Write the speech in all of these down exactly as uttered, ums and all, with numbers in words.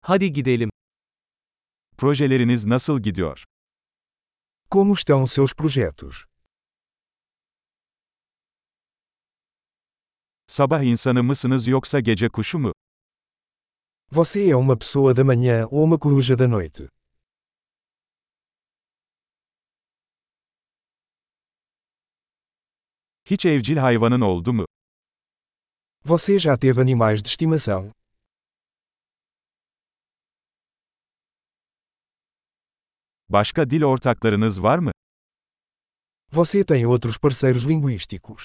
Hadi gidelim. Projeleriniz nasıl gidiyor? Como estão seus projetos? Sabah insanı mısınız yoksa gece kuşu mu? Você é uma pessoa da manhã ou uma coruja da noite? Hiç evcil hayvanın oldu mu? Você já teve animais de estimação? Başka dil ortaklarınız var mı? Você tem outros parceiros linguísticos?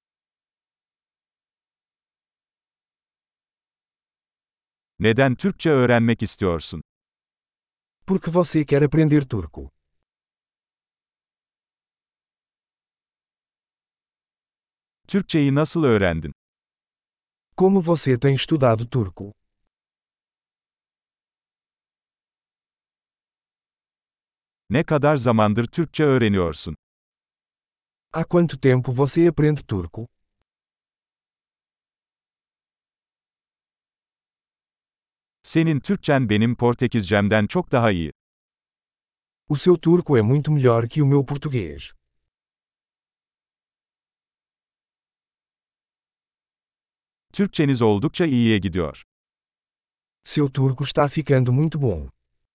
Neden Türkçe öğrenmek istiyorsun? Porque você quer aprender turco? Türkçeyi nasıl öğrendin? Como você tem estudado turco? Ne kadar zamandır Türkçe öğreniyorsun? Há quanto tempo você aprende turco? Senin Türkçen benim Portekizcemden çok daha iyi. O seu turco é muito melhor que o meu português. Türkçeniz oldukça iyiye gidiyor. Seu turco está ficando muito bom.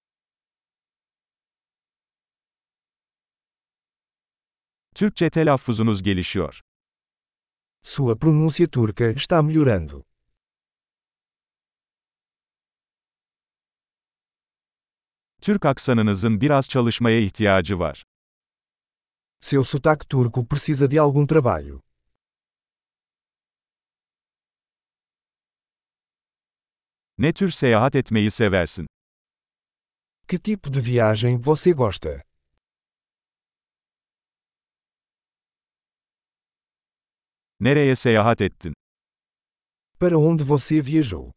Türkçe telaffuzunuz gelişiyor. Sua pronúncia turca está melhorando. Türk aksanınızın biraz çalışmaya ihtiyacı var. Seu sotaque turco precisa de algum trabalho. Ne tür seyahat etmeyi seversin? Que tipo de viagem você gosta? Nereye seyahat ettin? Para onde você viajou?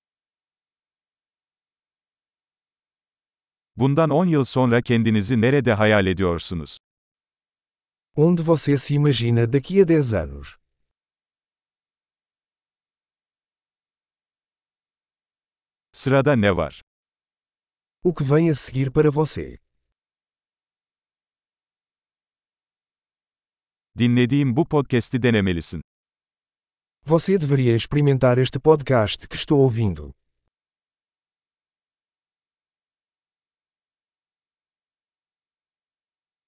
Bundan on yıl sonra kendinizi nerede hayal ediyorsunuz? Onde você se imagina daqui a dez anos? Sırada ne var? O que vem a seguir para você? Dinlediğim bu podcast'i denemelisin. Você deveria experimentar este podcast que estou ouvindo.